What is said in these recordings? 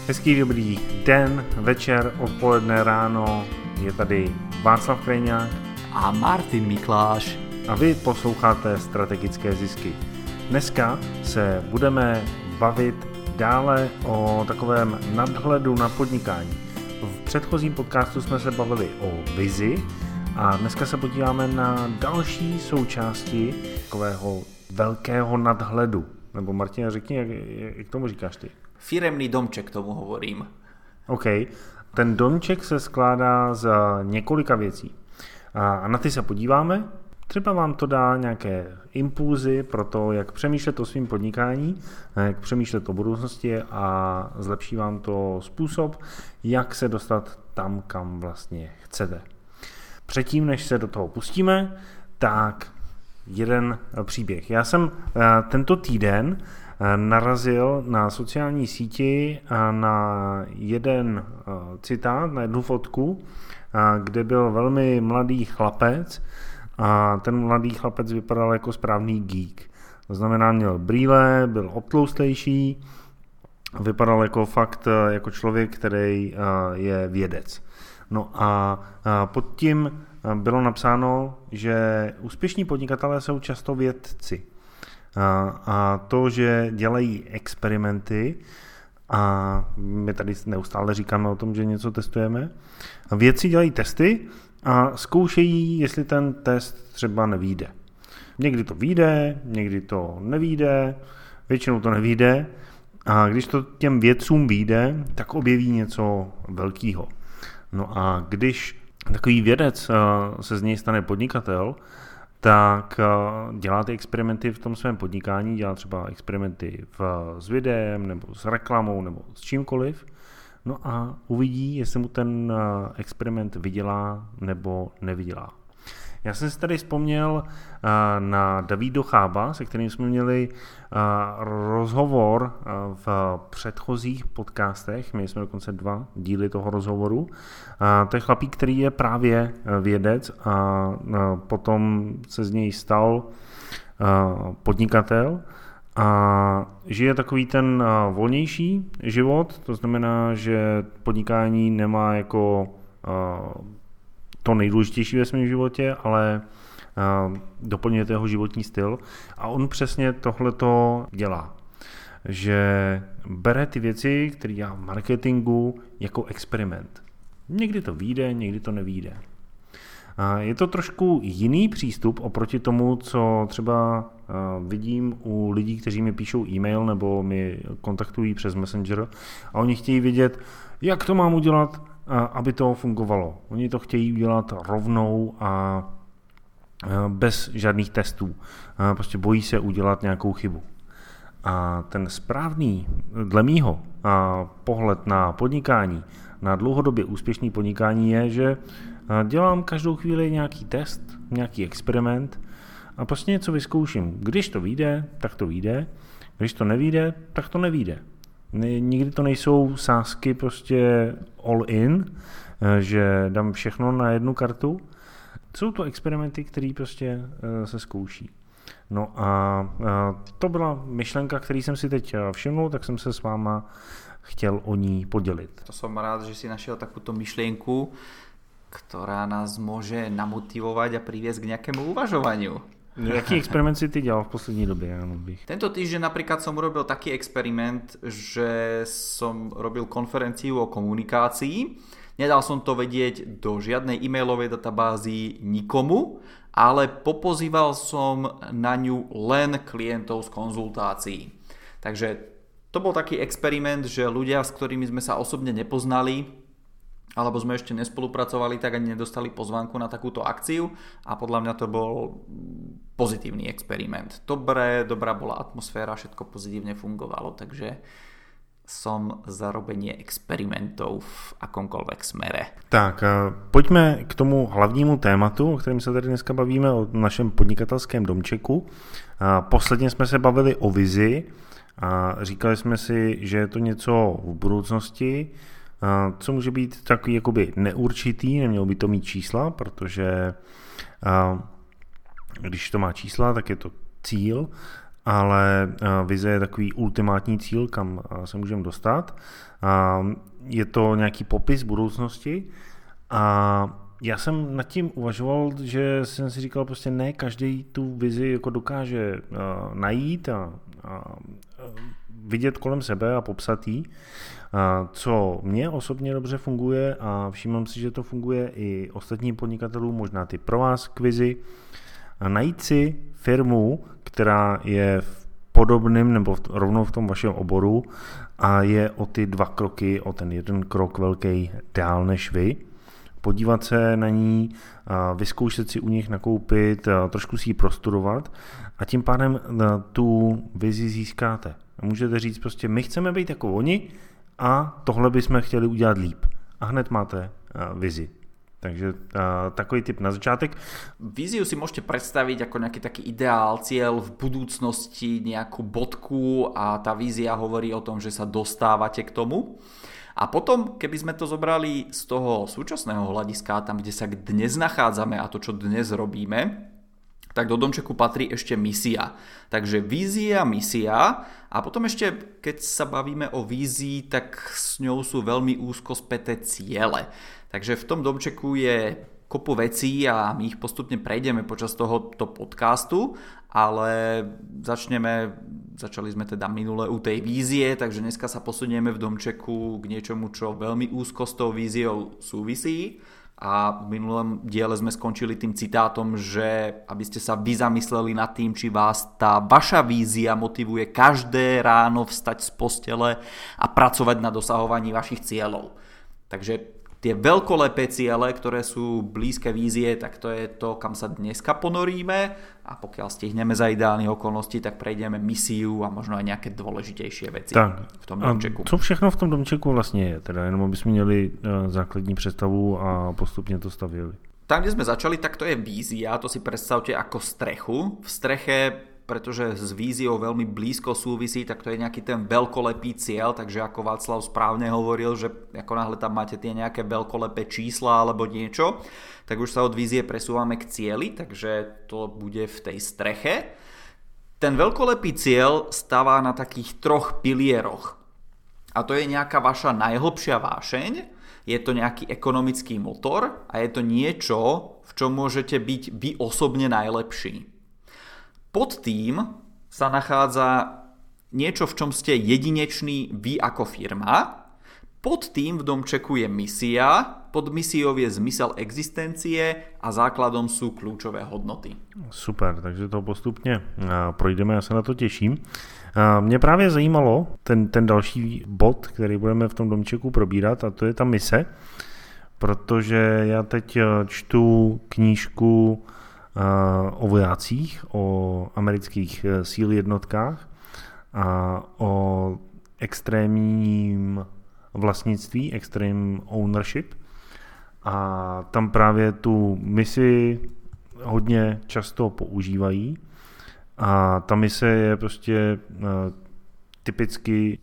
Hezký dobrý den, večer, odpoledne, ráno, je tady Václav Krejňák a Martin Mikláš. A vy posloucháte Strategické zisky. Dneska se budeme bavit dále o takovém nadhledu na podnikání. V předchozím podcastu jsme se bavili o vizi a dneska se podíváme na další součásti takového velkého nadhledu. Nebo Martina, řekni, jak tomu říkáš ty? Firemný domček tomu hovorím. OK. Ten domček se skládá z několika věcí. A na ty se podíváme. Třeba vám to dá nějaké impulzy pro to, jak přemýšlet o svým podnikání, jak přemýšlet o budoucnosti a zlepší vám to způsob, jak se dostat tam, kam vlastně chcete. Předtím, než se do toho pustíme, tak jeden příběh. Já jsem tento týden narazil na sociální síti na jeden citát, na jednu fotku, kde byl velmi mladý chlapec a ten mladý chlapec vypadal jako správný geek. To znamená, měl brýle, byl obtloustlejší, vypadal jako fakt jako člověk, který je vědec. No a pod tím bylo napsáno, že úspěšní podnikatelé jsou často vědci. A to, že dělají experimenty a my tady neustále říkáme o tom, že něco testujeme. A vědci dělají testy a zkoušejí, jestli ten test třeba nevyjde. Někdy to vyjde, někdy to nevyjde, většinou to nevyjde a když to těm vědcům vyjde, tak objeví něco velkého. No a když takový vědec se z něj stane podnikatel, tak dělá ty experimenty v tom svém podnikání, dělá třeba experimenty s videem, nebo s reklamou, nebo s čímkoliv, no a uvidí, jestli mu ten experiment vydělá nebo nevydělá. Já jsem si tady vzpomněl na Davído Chába, se kterým jsme měli rozhovor v předchozích podcastech, měli jsme dokonce 2 díly toho rozhovoru. To je chlapík, který je právě vědec a potom se z něj stal podnikatel a žije takový ten volnější život, to znamená, že podnikání nemá jako to nejdůležitější ve svém životě, ale doplňuje jeho životní styl a on přesně tohleto dělá, že bere ty věci, které dělá v marketingu, jako experiment. Někdy to vyjde, někdy to nevyjde. Je to trošku jiný přístup oproti tomu, co třeba vidím u lidí, kteří mi píšou e-mail nebo mi kontaktují přes Messenger a oni chtějí vědět, jak to mám udělat, aby to fungovalo. Oni to chtějí udělat rovnou a bez žádných testů. Prostě bojí se udělat nějakou chybu. A ten správný, dle mýho, pohled na podnikání, na dlouhodobě úspěšný podnikání je, že dělám každou chvíli nějaký test, nějaký experiment a prostě něco vyzkouším. Když to vyjde, tak to vyjde. Když to nevyjde, tak to nevyjde. Nikdy to nejsou sázky prostě all in, že dám všechno na jednu kartu. Jsou to experimenty, které prostě se zkouší. No a to byla myšlenka, který jsem si teď všimnul, tak jsem se s váma chtěl o ní podělit. To som rád, že si našiel takúto myšlienku, ktorá nás môže namotivovať a priviesť k nejakému uvažovaniu. Jaký experiment si ty dělal v poslední době? Tento týždeň napríklad som urobil taký experiment, že som robil konferenciu o komunikácii. Nedal som to vedieť do žiadnej e-mailovej databázy nikomu, ale popozýval som na ňu len klientov z konzultácií. Takže to bol taký experiment, že ľudia, s ktorými sme sa osobne nepoznali, alebo sme ešte nespolupracovali, tak ani nedostali pozvánku na takúto akciu a podľa mňa to bol pozitívny experiment. Dobrá bola atmosféra, všetko pozitívne fungovalo, takže som za robenie experimentov v akomkoľvek smere. Tak, pojďme k tomu hlavnímu tématu, o kterém se tady dneska bavíme, o našem podnikatelském domčeku. Posledně jsme se bavili o vizi a říkali jsme si, že je to něco v budoucnosti, co může být takový jakoby neurčitý, nemělo by to mít čísla, protože když to má čísla, tak je to cíl ale vize je takový ultimátní cíl, kam se můžeme dostat. Je to nějaký popis budoucnosti a já jsem nad tím uvažoval, že jsem si říkal prostě ne každý tu vizi jako dokáže najít a vidět kolem sebe a popsat jí. Co mně osobně dobře funguje a všímám si, že to funguje i ostatním podnikatelům, možná ty pro vás kvizi, najít si firmu, která je v podobném nebo rovnou v tom vašem oboru a je o ty 2 kroky, o ten 1 krok velký dál než vy. Podívat se na ní, vyzkoušet si u nich nakoupit, trošku si ji prostudovat a tím pádem tu vizi získáte. Můžete říct prostě, my chceme být jako oni a tohle bychom chtěli udělat líp. A hned máte vizi. Takže takový tip na začátek. Víziu si môžete predstaviť ako nejaký taký ideál, cieľ v budúcnosti, nejakú bodku a tá vízia hovorí o tom, že sa dostávate k tomu. A potom, keby sme to zobrali z toho súčasného hľadiska, tam, kde sa dnes nachádzame a to, čo dnes robíme, tak do domčeku patrí ešte misia. Takže vízia, misia a potom ešte, keď sa bavíme o vízii, tak s ňou sú veľmi úzko späté ciele. Takže v tom domčeku je kopu vecí a my ich postupne prejdeme počas tohoto podcastu, ale začali sme teda minule u tej vízie, takže dneska sa posunieme v domčeku k niečomu, čo veľmi úzko s tou víziou súvisí. A v minulom diele sme skončili tým citátom, že aby ste sa vy zamysleli nad tým, či vás tá vaša vízia motivuje každé ráno vstať z postele a pracovať na dosahovaní vašich cieľov. Takže tie veľkolepé ciele, ktoré sú blízke vízie, tak to je to, kam sa dneska ponoríme a pokiaľ stihneme za ideálnych okolností, tak prejdeme misiu a možno aj nejaké dôležitejšie veci v tom domčeku. Co všechno v tom domčeku vlastně je? Teda jenom aby sme měli základní představu a postupne to stavěli. Tam, kde sme začali, tak to je vízia, to si predstavte ako strechu. V streche, pretože s víziou veľmi blízko súvisí, tak to je nejaký ten veľkolepý cieľ, takže ako Václav správne hovoril, že ako náhle tam máte tie nejaké veľkolepé čísla alebo niečo, tak už sa od vízie presúvame k cieli, takže to bude v tej streche. Ten veľkolepý cieľ stavá na takých 3 pilieroch. A to je nejaká vaša najhlbšia vášeň, je to nejaký ekonomický motor a je to niečo, v čom môžete byť vy osobne najlepší. Pod tým sa nachádza niečo, v čom ste jedineční vy ako firma. Pod tým v domčeku je misia, pod misiou je zmysel existencie a základom sú kľúčové hodnoty. Super, takže to postupně projdeme, já se na to těším. Mě právě zajímalo ten další bod, který budeme v tom domčeku probírat, a to je ta mise, protože já teď čtu knížku o vojácích, o amerických síl jednotkách a o extrémním vlastnictví, extreme ownership. A tam právě tu misi hodně často používají. A ta mise je prostě typicky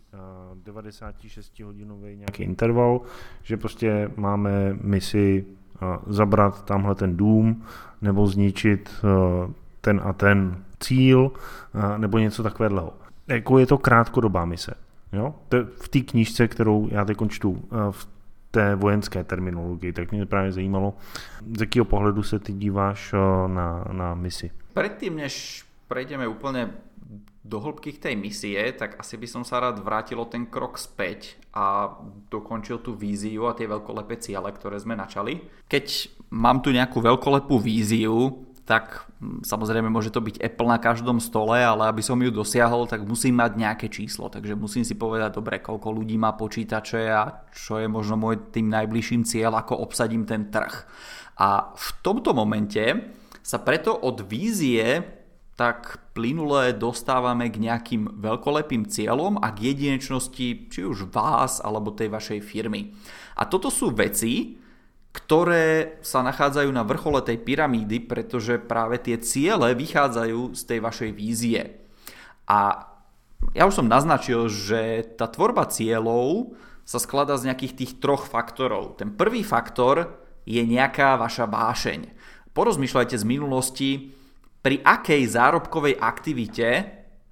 96-hodinový nějaký interval, že prostě máme misi zabrat tamhle ten dům nebo zničit ten a ten cíl nebo něco takového. Jako je to krátkodobá mise. Jo? V té knížce, kterou já teď čtu v té vojenské terminologii, tak mě právě zajímalo, z jakého pohledu se ty díváš na misi. Predtým, než prejdeme úplne do hĺbky tej misie, tak asi by som sa rád vrátil o ten krok späť a dokončil tú víziu a tie veľkolepé ciele, ktoré sme načali. Keď mám tu nejakú veľkolepú víziu, tak samozrejme môže to byť Apple na každom stole, ale aby som ju dosiahol, tak musím mať nejaké číslo. Takže musím si povedať, dobre, koľko ľudí má počítače a čo je možno môj tým najbližším cieľ, ako obsadím ten trh. A v tomto momente sa preto od vízie tak plynule dostávame k nejakým veľkolepým cieľom a k jedinečnosti či už vás alebo tej vašej firmy. A toto sú veci, ktoré sa nachádzajú na vrchole tej pyramídy, pretože práve tie ciele vychádzajú z tej vašej vízie. A ja už som naznačil, že tá tvorba cieľov sa skladá z nejakých tých 3 faktorov. Ten prvý faktor je nejaká vaša vášeň. Porozmýšľajte z minulosti, pri akej zárobkovej aktivite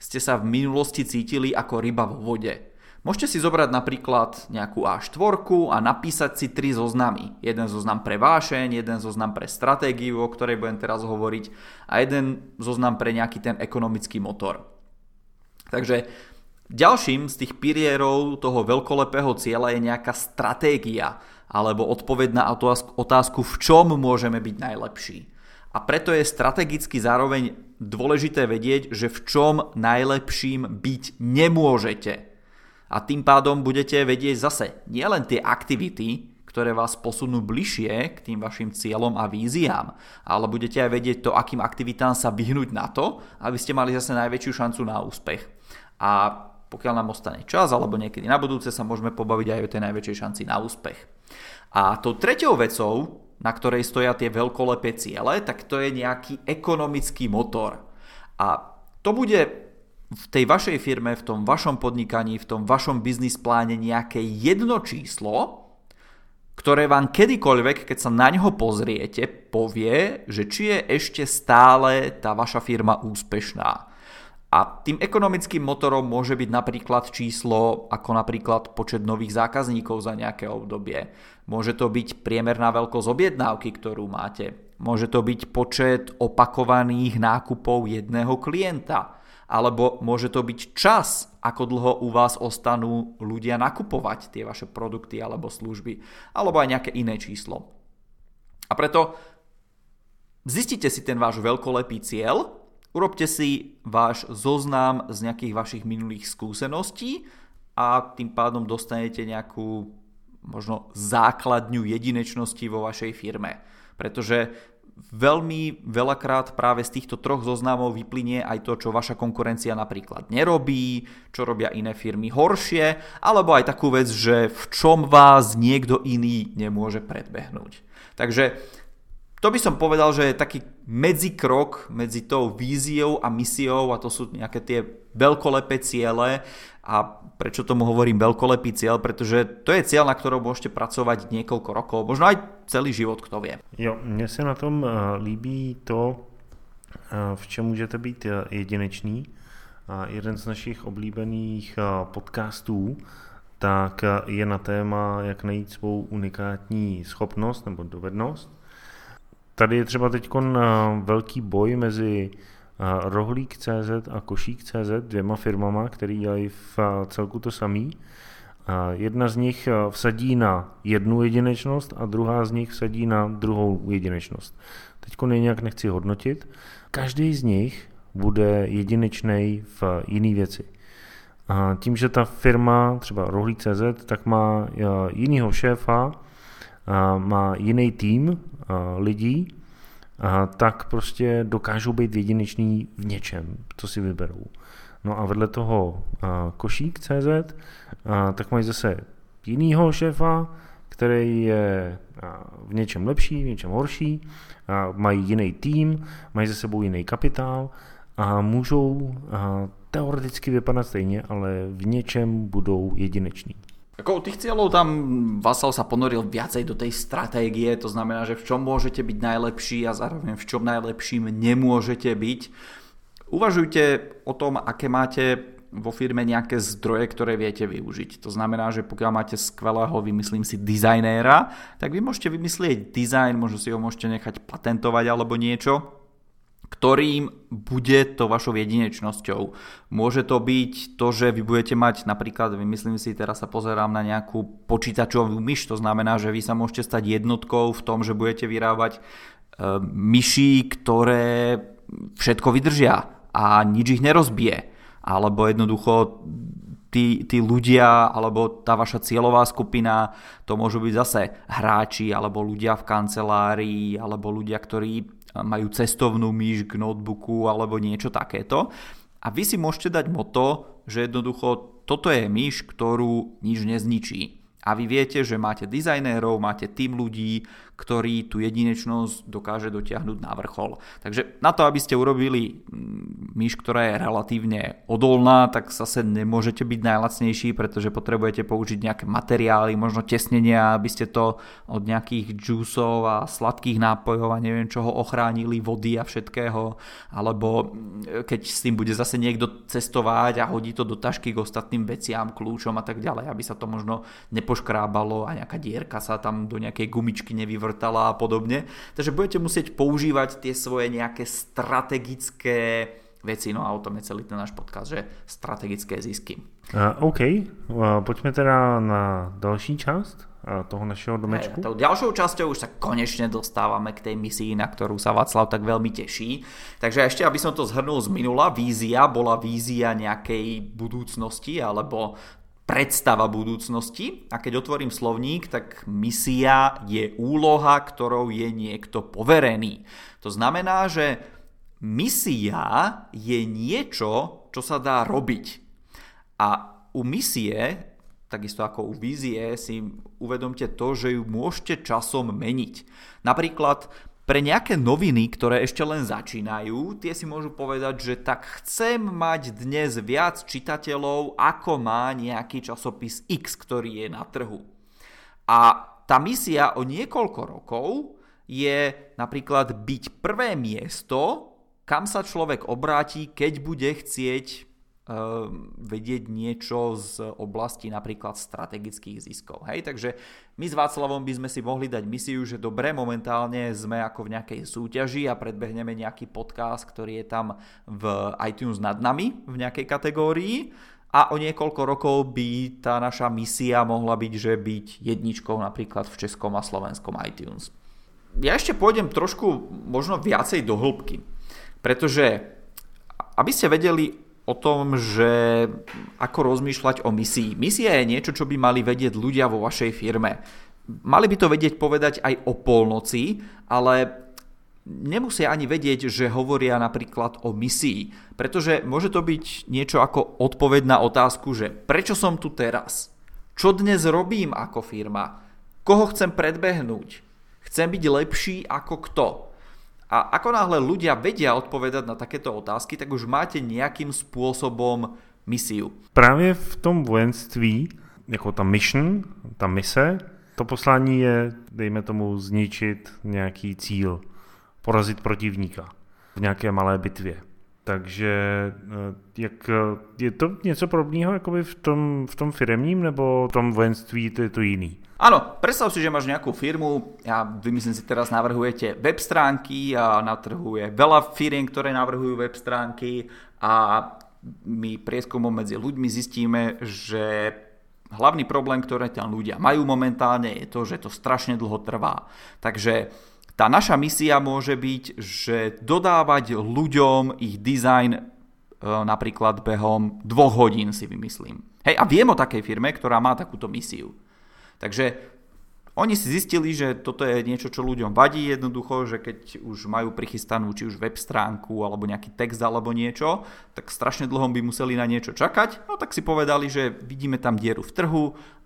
ste sa v minulosti cítili ako ryba vo vode. Môžete si zobrať napríklad nejakú A4 a napísať si 3 zoznamy. Jeden zoznam pre vášeň, jeden zoznam pre stratégiu, o ktorej budem teraz hovoriť, a jeden zoznam pre nejaký ten ekonomický motor. Takže ďalším z tých pilierov toho veľkolepého cieľa je nejaká stratégia alebo odpoveď na otázku, v čom môžeme byť najlepší. A preto je strategicky zároveň dôležité vedieť, že v čom najlepším byť nemôžete. A tým pádom budete vedieť zase nielen tie aktivity, ktoré vás posunú bližšie k tým vašim cieľom a víziám, ale budete aj vedieť to, akým aktivitám sa vyhnúť na to, aby ste mali zase najväčšiu šancu na úspech. A pokiaľ nám ostane čas, alebo niekedy na budúce, sa môžeme pobaviť aj o tej najväčšej šanci na úspech. A tou treťou vecou, na ktorej stoja tie veľkolepé ciele, tak to je nejaký ekonomický motor. A to bude v tej vašej firme, v tom vašom podnikaní, v tom vašom biznis pláne nejaké jedno číslo, ktoré vám kedykoľvek, keď sa na ňo pozriete, povie, že či je ešte stále tá vaša firma úspešná. A tým ekonomickým motorom môže byť napríklad číslo ako napríklad počet nových zákazníkov za nejaké obdobie. Môže to byť priemerná veľkosť objednávky, ktorú máte. Môže to byť počet opakovaných nákupov jedného klienta. Alebo môže to byť čas, ako dlho u vás ostanú ľudia nakupovať tie vaše produkty alebo služby. Alebo aj nejaké iné číslo. A preto zistite si ten váš veľkolepý cieľ, urobte si váš zoznam z nejakých vašich minulých skúseností a tým pádom dostanete nejakú možno základňu jedinečnosti vo vašej firme. Pretože veľmi veľakrát práve z týchto 3 zoznamov vyplynie aj to, čo vaša konkurencia napríklad nerobí, čo robia iné firmy horšie, alebo aj takú vec, že v čom vás niekto iný nemôže predbehnúť. Takže to by som povedal, že je taký medzikrok medzi tou víziou a misiou, a to sú nejaké tie veľkolepé ciele. A prečo tomu hovorím veľkolepý cieľ? Pretože to je cieľ, na ktorom môžete pracovať niekoľko rokov, možno aj celý život, kto vie. Jo, mně se na tom líbí to, v čem můžete být jedinečný. Jeden z našich oblíbených podcastů tak je na téma, jak najít svou unikátní schopnost nebo dovednost. Tady je třeba teď velký boj mezi Rohlík.cz a Košík.cz, 2 firmama, které dělají v celku to samý. Jedna z nich vsadí na jednu jedinečnost a druhá z nich vsadí na druhou jedinečnost. Teď nějak nechci hodnotit. Každý z nich bude jedinečný v jiný věci. A tím, že ta firma, třeba Rohlík.cz, tak má jinýho šéfa, má jiný tým lidí, tak prostě dokážou být jedineční v něčem, co si vyberou. No a vedle toho Košík.cz, tak mají zase jinýho šéfa, který je v něčem lepší, v něčem horší, mají jiný tým, mají za sebou jiný kapitál a můžou teoreticky vypadat stejně, ale v něčem budou jedineční. Ako u tých cieľov tam Vasal sa ponoril viacej do tej stratégie, to znamená, že v čom môžete byť najlepší a zároveň v čom najlepším nemôžete byť. Uvažujte o tom, aké máte vo firme nejaké zdroje, ktoré viete využiť. To znamená, že pokiaľ máte skvelého, vymyslím si, dizajnéra, tak vy môžete vymyslieť dizajn, možno si ho môžete nechať patentovať alebo niečo, ktorým bude to vašou jedinečnosťou. Môže to byť to, že vy budete mať napríklad, vymyslím si, teraz sa pozerám na nejakú počítačovú myš, to znamená, že vy sa môžete stať jednotkou v tom, že budete vyrábať myší, ktoré všetko vydržia a nič ich nerozbije. Alebo jednoducho tí ľudia, alebo tá vaša cieľová skupina, to môžu byť zase hráči, alebo ľudia v kancelárii, alebo ľudia, ktorí majú cestovnú myš k notebooku alebo niečo takéto. A vy si môžete dať motto, že jednoducho toto je myš, ktorú nič nezničí. A vy viete, že máte dizajnérov, máte tým ľudí, ktorí tú jedinečnosť dokáže dotiahnuť na vrchol. Takže na to, aby ste urobili myš, ktorá je relatívne odolná, tak zase nemôžete byť najlacnejší, pretože potrebujete použiť nejaké materiály, možno tesnenia, aby ste to od nejakých džúsov a sladkých nápojov a neviem čoho ochránili, vody a všetkého. Alebo keď s tým bude zase niekto cestovať a hodí to do tašky k ostatným veciam, kľúčom a tak ďalej, aby sa to možno nepoškrábalo a nejaká dierka sa tam do nejakej gumičky nevyvrtala a podobne. Takže budete musieť používať tie svoje nejaké strategické veci, no a o tom je celý ten náš podcast, že strategické zisky. OK, poďme teda na další časť toho našeho domečku. Tou ďalšou časťou už sa konečne dostávame k tej misii, na ktorú sa Václav tak veľmi teší. Takže ešte, aby som to zhrnul z minula, vízia bola vízia nejakej budúcnosti alebo predstava budúcnosti, a keď otvorím slovník, tak misia je úloha, ktorou je niekto poverený. To znamená, že misia je niečo, čo sa dá robiť. A u misie, takisto ako u vízie, si uvedomte to, že ju môžete časom meniť. Napríklad pre nejaké noviny, ktoré ešte len začínajú, tie si môžu povedať, že tak chcem mať dnes viac čitateľov, ako má nejaký časopis X, ktorý je na trhu. A tá misia o niekoľko rokov je napríklad byť prvé miesto, kam sa človek obráti, keď bude chcieť vedieť niečo z oblasti napríklad strategických ziskov. Hej? Takže my s Václavom by sme si mohli dať misiu, že dobre, momentálne sme ako v nejakej súťaži a predbehneme nejaký podcast, ktorý je tam v iTunes nad nami v nejakej kategórii, a o niekoľko rokov by tá naša misia mohla byť, že byť jedničkou napríklad v českom a slovenskom iTunes. Ja ešte pôjdem trošku možno viacej do hĺbky, pretože aby ste vedeli o tom, že ako rozmýšľať o misii. Misia je niečo, čo by mali vedieť ľudia vo vašej firme. Mali by to vedieť povedať aj o polnoci, ale nemusia ani vedieť, že hovoria napríklad o misii. Pretože môže to byť niečo ako odpoveď na otázku, že prečo som tu teraz? Čo dnes robím ako firma? Koho chcem predbehnúť? Chcem byť lepší ako kto? A ako náhle ľudia vedia odpovedať na takéto otázky, tak už máte nejakým spôsobom misiu. Právě v tom vojenství, jako ta mission, ta mise, to poslání je, dejme tomu, zničit nějaký cíl, porazit protivníka v nějaké malé bitvě. Takže jak, je to něco podobného jakoby v tom firemním, nebo v tom vojenství to je to jiný? Áno, predstav si, že máš nejakú firmu, vymyslím si teraz, navrhujete web stránky a na trhu je veľa firiem, ktoré navrhujú web stránky, a my prieskumom medzi ľuďmi zistíme, že hlavný problém, ktoré tam ľudia majú momentálne, je to, že to strašne dlho trvá. Takže tá naša misia môže byť, že dodávať ľuďom ich dizajn napríklad behom 2 hodín, si vymyslím. Hej, a viem o takej firme, ktorá má takúto misiu. Takže oni si zistili, že toto je niečo, čo ľuďom vadí jednoducho, že keď už majú prichystanú či už web stránku alebo nejaký text alebo niečo, tak strašne dlho by museli na niečo čakať, no tak si povedali, že vidíme tam dieru v trhu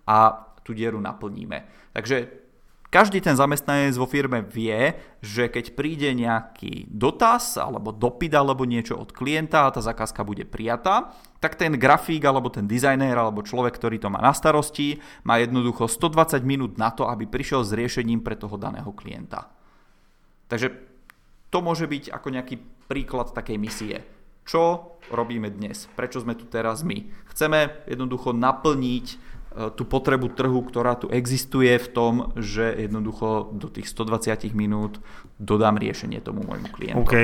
a tú dieru naplníme. Takže každý ten zamestnanec vo firme vie, že keď príde nejaký dotaz alebo dopyt alebo niečo od klienta a tá zakázka bude prijatá, tak ten grafík alebo ten dizajnér alebo človek, ktorý to má na starosti, má jednoducho 120 minút na to, aby prišiel s riešením pre toho daného klienta. Takže to môže byť ako nejaký príklad takej misie. Čo robíme dnes? Prečo sme tu teraz my? Chceme jednoducho naplniť tú potrebu trhu, ktorá tu existuje v tom, že jednoducho do tých 120 minút dodám riešenie tomu môjmu klientovi. OK,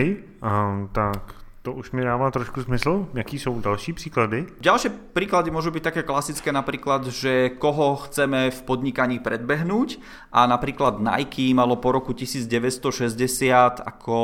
tak to už mi dáva trošku smysl. Jaký sú ďalší príklady? Ďalšie príklady môžu byť také klasické, napríklad, že koho chceme v podnikaní predbehnúť, a napríklad Nike malo po roku 1960 ako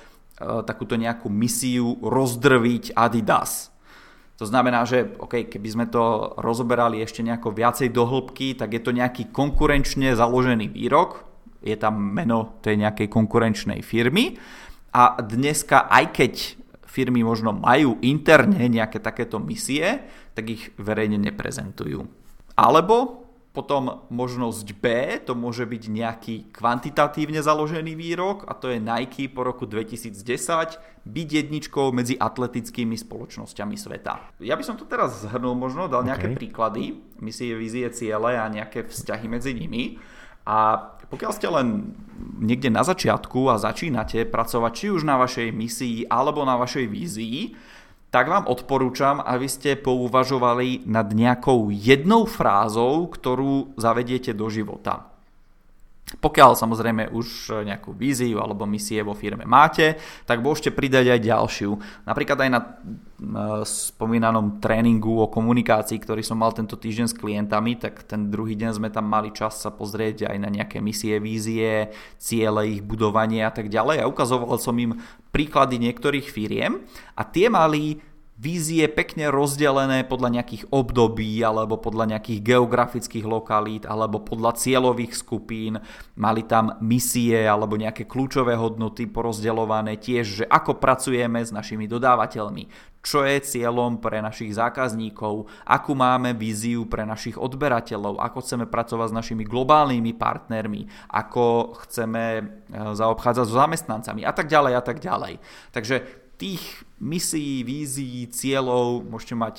takúto nejakú misiu rozdrviť Adidas. To znamená, že keby sme to rozoberali ešte nejako viacej do hĺbky, tak je to nejaký konkurenčne založený výrok, je tam meno tej nejakej konkurenčnej firmy, a dneska, aj keď firmy možno majú interne nejaké takéto misie, tak ich verejne neprezentujú. Alebo Potom možnosť B, to môže byť nejaký kvantitatívne založený výrok a to je Nike po roku 2010 byť jedničkou medzi atletickými spoločnosťami sveta. Ja by som to teraz zhrnul, možno dal nejaké príklady, misie, vízie, ciele a nejaké vzťahy medzi nimi. A pokiaľ ste len niekde na začiatku a začínate pracovať či už na vašej misii alebo na vašej vízii, tak vám odporúčam, aby ste pouvažovali nad nejakou jednou frázou, ktorú zavediete do života. Pokiaľ samozrejme už nejakú víziu alebo misie vo firme máte, tak môžete pridať aj ďalšiu. Napríklad aj na spomínanom tréningu o komunikácii, ktorý som mal tento týždeň s klientami, tak ten druhý deň sme tam mali čas sa pozrieť aj na nejaké misie, vízie, ciele, ich budovanie a tak ďalej. A ukazoval som im príklady niektorých firiem a tie mali vízie pekne rozdelené podľa nejakých období alebo podľa nejakých geografických lokalít alebo podľa cieľových skupín. Mali tam misie alebo nejaké kľúčové hodnoty porozdeľované tiež, že ako pracujeme s našimi dodávateľmi, čo je cieľom pre našich zákazníkov, akú máme víziu pre našich odberateľov, ako chceme pracovať s našimi globálnymi partnermi, ako chceme zaobchádzať so zamestnancami a tak ďalej a tak ďalej. Takže tých misií, vízií, cieľov môžete mať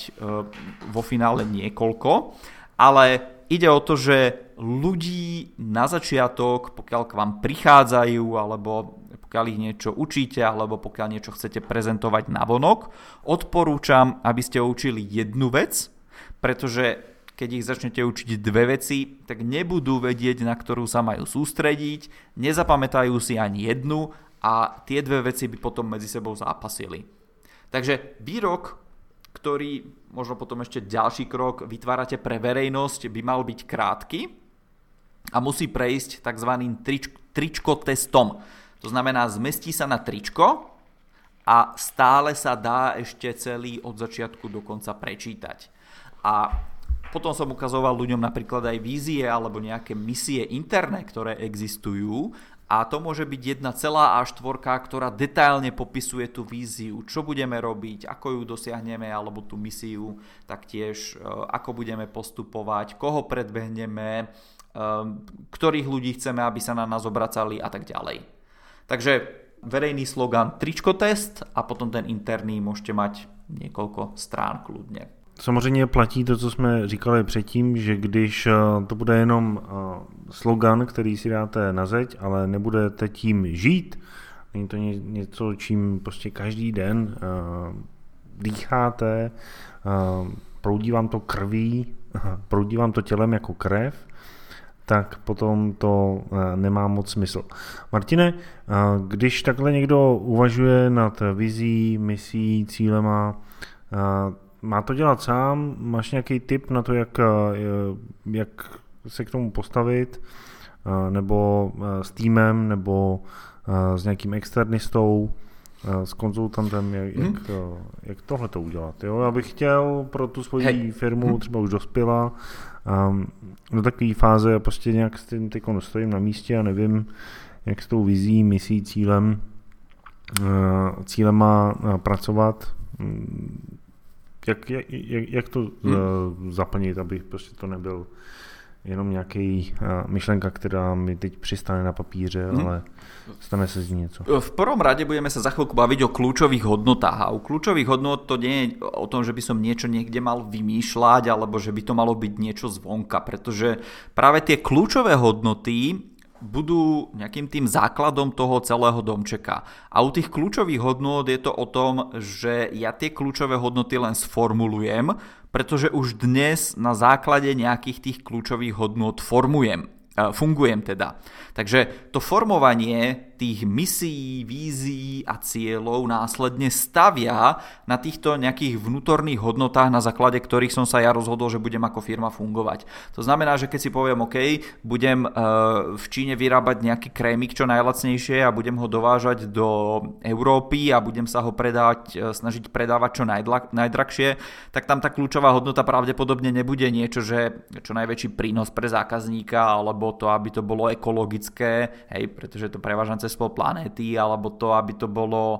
vo finále niekoľko, ale ide o to, že ľudí na začiatok, pokiaľ k vám prichádzajú, alebo pokiaľ ich niečo učíte, alebo pokiaľ niečo chcete prezentovať navonok, odporúčam, aby ste učili jednu vec, pretože keď ich začnete učiť dve veci, tak nebudú vedieť, na ktorú sa majú sústrediť, nezapamätajú si ani jednu, a tie dve veci by potom medzi sebou zápasili. Takže výrok, ktorý možno potom ešte ďalší krok vytvárate pre verejnosť, by mal byť krátky a musí prejsť tzv. Tričko testom. To znamená, zmestí sa na tričko a stále sa dá ešte celý od začiatku do konca prečítať. A potom som ukazoval ľuďom napríklad aj vízie alebo nejaké misie interné, ktoré existujú. A to môže byť jedna celá A4, ktorá detailne popisuje tú víziu, čo budeme robiť, ako ju dosiahneme, alebo tú misiu, taktiež ako budeme postupovať, koho predbehneme, ktorých ľudí chceme, aby sa na nás obracali a tak ďalej. Takže verejný slogan tričko test a potom ten interný môžete mať niekoľko strán kľudne. Samozřejmě platí to, co jsme říkali předtím, že když to bude jenom slogan, který si dáte na zeď, ale nebudete tím žít, není to něco, čím prostě každý den dýcháte, proudí vám to krví, proudí vám to tělem jako krev, tak potom to nemá moc smysl. Martine, když takhle někdo uvažuje nad vizí, misí, cílema, má to dělat sám? Máš nějaký tip na to, jak se k tomu postavit? Nebo s týmem, nebo s nějakým externistou, s konzultantem, jak tohle to udělat? Jo? Já bych chtěl pro tu svoji firmu, třeba už dospěla, do takové fáze, prostě nějak s tím stojím na místě a nevím, jak s tou vizí, misí, cílema pracovat. Jak to zaplnit, aby prostě to nebyl jenom nějaký myšlenka, která mi teď přistane na papíře, ale stane se z ní něco. V prvom rade budeme sa za chvíľku baviť o kľúčových hodnotách. A u kľúčových hodnot to nie je o tom, že by som niečo niekde mal vymýšľať, alebo že by to malo byť niečo zvonka, pretože práve tie kľúčové hodnoty budú nejakým tým základom toho celého domčeka. A u tých kľúčových hodnôt je to o tom, že ja tie kľúčové hodnoty len sformulujem, pretože už dnes na základe nejakých tých kľúčových hodnôt fungujem teda. Takže to formovanie tých misií, vízií a cieľov následne stavia na týchto nejakých vnútorných hodnotách, na základe ktorých som sa ja rozhodol, že budem ako firma fungovať. To znamená, že keď si poviem, OK, budem v Číne vyrábať nejaký krémik čo najlacnejšie a budem ho dovážať do Európy a budem sa ho snažiť predávať čo najdrahšie, tak tam tá kľúčová hodnota pravdepodobne nebude niečo, že čo najväčší prínos pre zákazníka, alebo to, aby to bolo ekologické, hej, pretože to prevážam cez pol planéty, alebo to, aby to bolo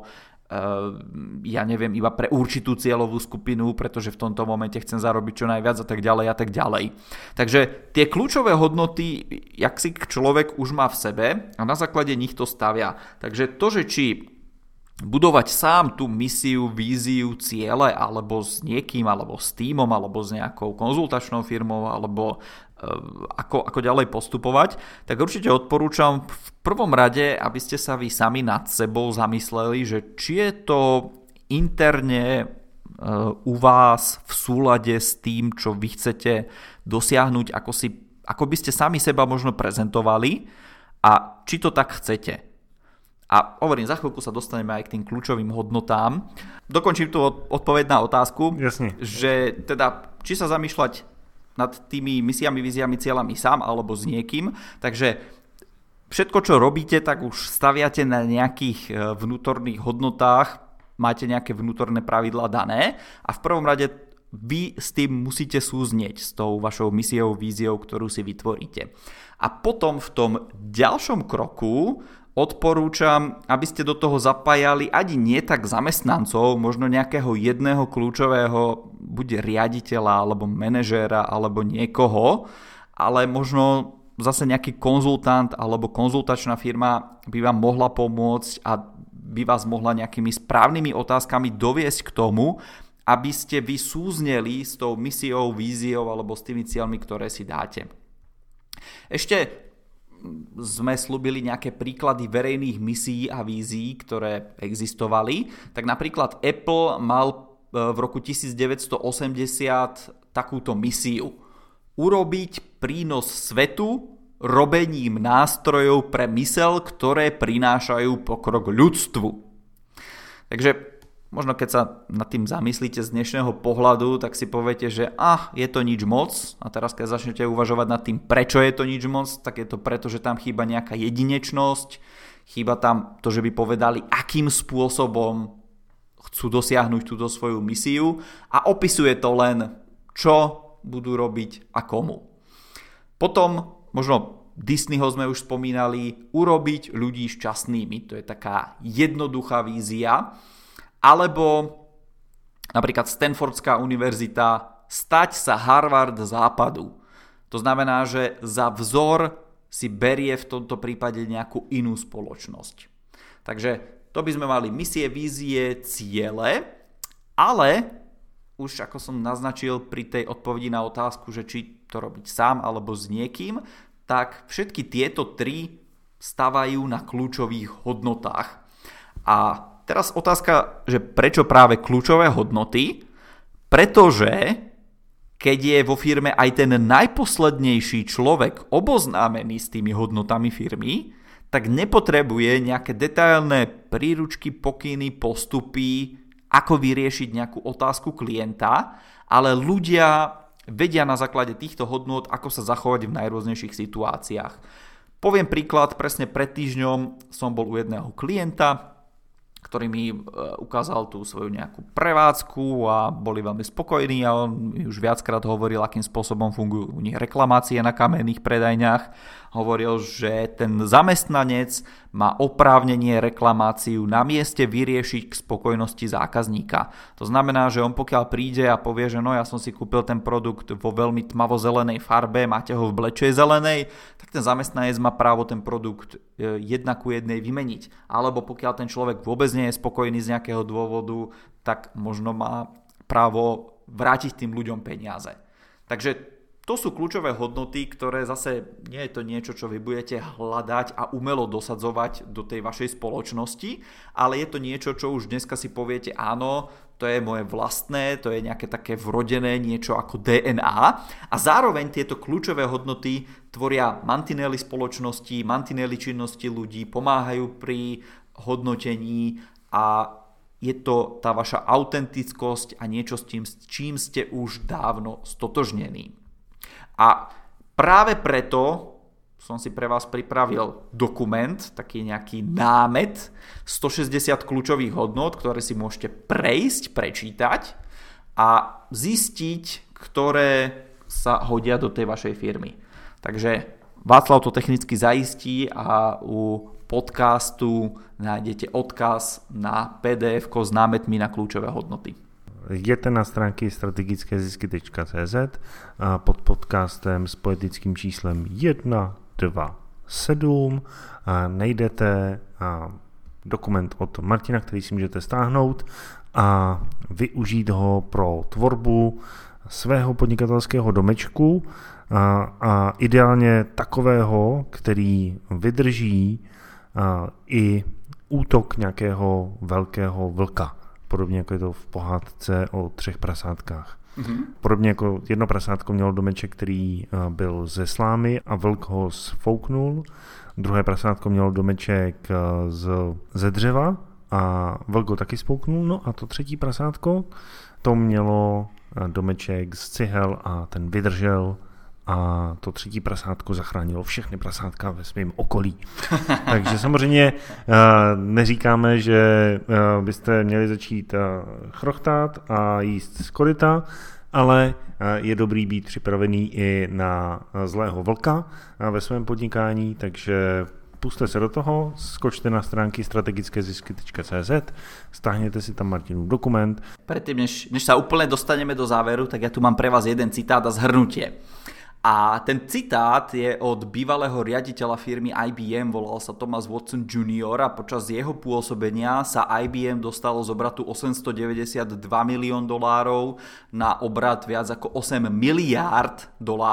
ja neviem, iba pre určitú cieľovú skupinu, pretože v tomto momente chcem zarobiť čo najviac a tak ďalej a tak ďalej. Takže tie kľúčové hodnoty, jak si človek už má v sebe a na základe nich to stavia. Takže to, že či budovať sám tú misiu, víziu, ciele, alebo s niekým, alebo s tímom, alebo s nejakou konzultačnou firmou, alebo ako ďalej postupovať, tak určite odporúčam v prvom rade, aby ste sa vy sami nad sebou zamysleli, že či je to interne u vás v súlade s tým, čo vy chcete dosiahnuť, ako by ste sami seba možno prezentovali a či to tak chcete. A hovorím, za chvíľku sa dostaneme aj k tým kľúčovým hodnotám. Dokončím tu odpoveď na otázku, Jasne. Že teda, či sa zamýšľať nad tými misiami, víziami, cieľami sám alebo s niekým. Takže všetko, čo robíte, tak už staviate na nejakých vnútorných hodnotách, máte nejaké vnútorné pravidlá dané a v prvom rade vy s tým musíte súznieť s tou vašou misiou, víziou, ktorú si vytvoríte. A potom v tom ďalšom kroku odporúčam, aby ste do toho zapájali ani nie tak zamestnancov, možno nejakého jedného kľúčového buď riaditeľa, alebo manažéra, alebo niekoho, ale možno zase nejaký konzultant alebo konzultačná firma by vám mohla pomôcť a by vás mohla nejakými správnymi otázkami doviesť k tomu, aby ste vy súzneli s tou misiou, víziou alebo s tými cieľmi, ktoré si dáte. Ešte sme slúbili nejaké príklady verejných misií a vízií, ktoré existovali. Tak napríklad Apple mal v roku 1980 takúto misiu. Urobiť prínos svetu robením nástrojov pre myseľ, ktoré prinášajú pokrok ľudstvu. Takže možno keď sa nad tým zamyslíte z dnešného pohľadu, tak si poviete, že je to nič moc. A teraz keď začnete uvažovať nad tým, prečo je to nič moc, tak je to preto, že tam chýba nejaká jedinečnosť, chýba tam to, že by povedali, akým spôsobom chcú dosiahnuť túto svoju misiu a opisuje to len, čo budú robiť a komu. Potom možno Disneyho sme už spomínali, urobiť ľudí šťastnými. To je taká jednoduchá vízia. Alebo napríklad Stanfordská univerzita stať sa Harvard západu. To znamená, že za vzor si berie v tomto prípade nejakú inú spoločnosť. Takže to by sme mali misie, vízie, ciele, ale už ako som naznačil pri tej odpovedi na otázku, že či to robiť sám alebo s niekým, tak všetky tieto tri stavajú na kľúčových hodnotách. A teraz otázka, že prečo práve kľúčové hodnoty? Pretože keď je vo firme aj ten najposlednejší človek oboznámený s tými hodnotami firmy, tak nepotrebuje nejaké detailné príručky, pokyny, postupy, ako vyriešiť nejakú otázku klienta, ale ľudia vedia na základe týchto hodnôt, ako sa zachovať v najrôznejších situáciách. Poviem príklad, presne pred týždňom som bol u jedného klienta, ktorý mi ukázal tú svoju nejakú prevádzku a boli veľmi spokojní a on už viackrát hovoril, akým spôsobom fungujú u nich reklamácie na kamenných predajniach. Hovoril, že ten zamestnanec má oprávnenie reklamáciu na mieste vyriešiť k spokojnosti zákazníka. To znamená, že on pokiaľ príde a povie, že no ja som si kúpil ten produkt vo veľmi tmavo-zelenej farbe, máte ho v blečej zelenej, tak ten zamestnanec má právo ten produkt 1:1 vymeniť. Alebo pokiaľ ten človek vôbec nie je spokojný z nejakého dôvodu, tak možno má právo vrátiť tým ľuďom peniaze. Takže to sú kľúčové hodnoty, ktoré zase nie je to niečo, čo vy budete hľadať a umelo dosadzovať do tej vašej spoločnosti, ale je to niečo, čo už dneska si poviete, áno, to je moje vlastné, to je nejaké také vrodené niečo ako DNA a zároveň tieto kľúčové hodnoty tvoria mantinely spoločnosti, mantinely činnosti ľudí, pomáhajú pri hodnotení a je to tá vaša autentickosť a niečo s čím ste už dávno stotožnení. A práve preto som si pre vás pripravil dokument, taký nejaký námet, 160 kľúčových hodnôt, ktoré si môžete prejsť, prečítať a zistiť, ktoré sa hodia do tej vašej firmy. Takže Václav to technicky zaistí a u podcastu nájdete odkaz na PDF-ko s námetmi na kľúčové hodnoty. Jděte na stránky strategickézisky.cz a pod podcastem s poetickým číslem 127 najdete dokument od Martina, který si můžete stáhnout a využít ho pro tvorbu svého podnikatelského domečku a ideálně takového, který vydrží i útok nějakého velkého vlka. Podobně jako je to v pohádce o 3 prasátkách. Podobně jako jedno prasátko mělo domeček, který byl ze slámy a vlk ho sfouknul. Druhé prasátko mělo domeček ze dřeva a vlk ho taky spouknul. No a to třetí prasátko, to mělo domeček z cihel a ten vydržel a to třetí prasátko zachránilo všechny prasátka ve svém okolí. Takže samozřejmě neříkáme, že byste měli začít chrochtat a jíst z koryta, ale je dobrý být připravený i na zlého vlka ve svém podnikání, takže puste se do toho, skočte na stránky strategickézisky.cz, stáhněte si tam Martinův dokument. Predtým, než sa úplne dostaneme do záveru, tak ja tu mám pre vás jeden citát a zhrnutie. A ten citát je od bývalého riaditeľa firmy IBM, volal sa Thomas Watson Jr. a počas jeho pôsobenia sa IBM dostalo z obratu $892 milión na obrat viac ako $8 miliárd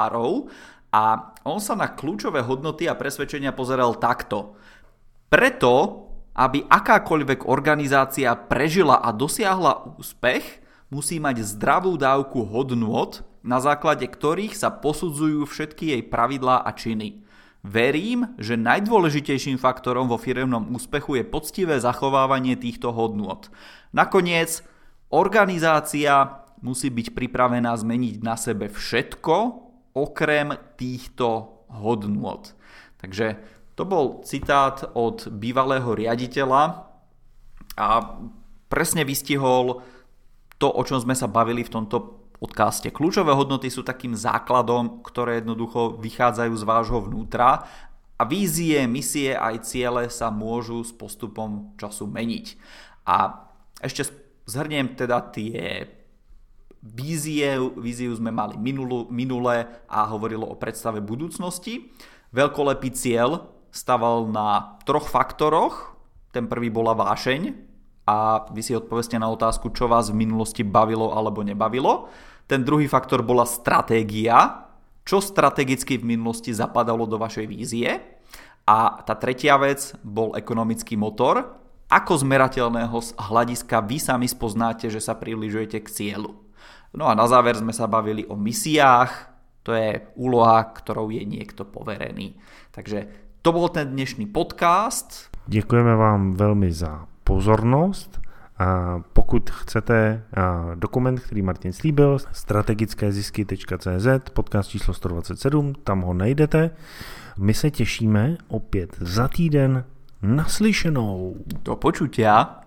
a on sa na kľúčové hodnoty a presvedčenia pozeral takto. Preto, aby akákoľvek organizácia prežila a dosiahla úspech, musí mať zdravú dávku hodnôt, na základe ktorých sa posudzujú všetky jej pravidlá a činy. Verím, že najdôležitejším faktorom vo firemnom úspechu je poctivé zachovávanie týchto hodnôt. Nakoniec, organizácia musí byť pripravená zmeniť na sebe všetko, okrem týchto hodnôt. Takže to bol citát od bývalého riaditeľa a presne vystihol to, o čom sme sa bavili v tomto podcaste. Kľúčové hodnoty sú takým základom, ktoré jednoducho vychádzajú z vášho vnútra a vízie, misie aj ciele sa môžu s postupom času meniť. A ešte zhrniem teda tie víziu sme mali minule a hovorilo o predstave budúcnosti. Veľkolepý cieľ staval na 3 faktoroch. Ten prvý bola vášeň a vy si odpoveste na otázku, čo vás v minulosti bavilo alebo nebavilo. Ten druhý faktor bola stratégia, čo strategicky v minulosti zapadalo do vašej vízie. A tá tretia vec bol ekonomický motor. Ako z merateľného hľadiska vy sami spoznáte, že sa približujete k cieľu. No a na záver sme sa bavili o misiách, to je úloha, ktorou je niekto poverený. Takže to bol ten dnešný podcast. Děkujeme vám velmi za pozornost. Pokud chcete dokument, který Martin slíbil, strategickézisky.cz, podcast číslo 127, tam ho najdete. My se těšíme opět za týden. Naslyšenou. Do počutia.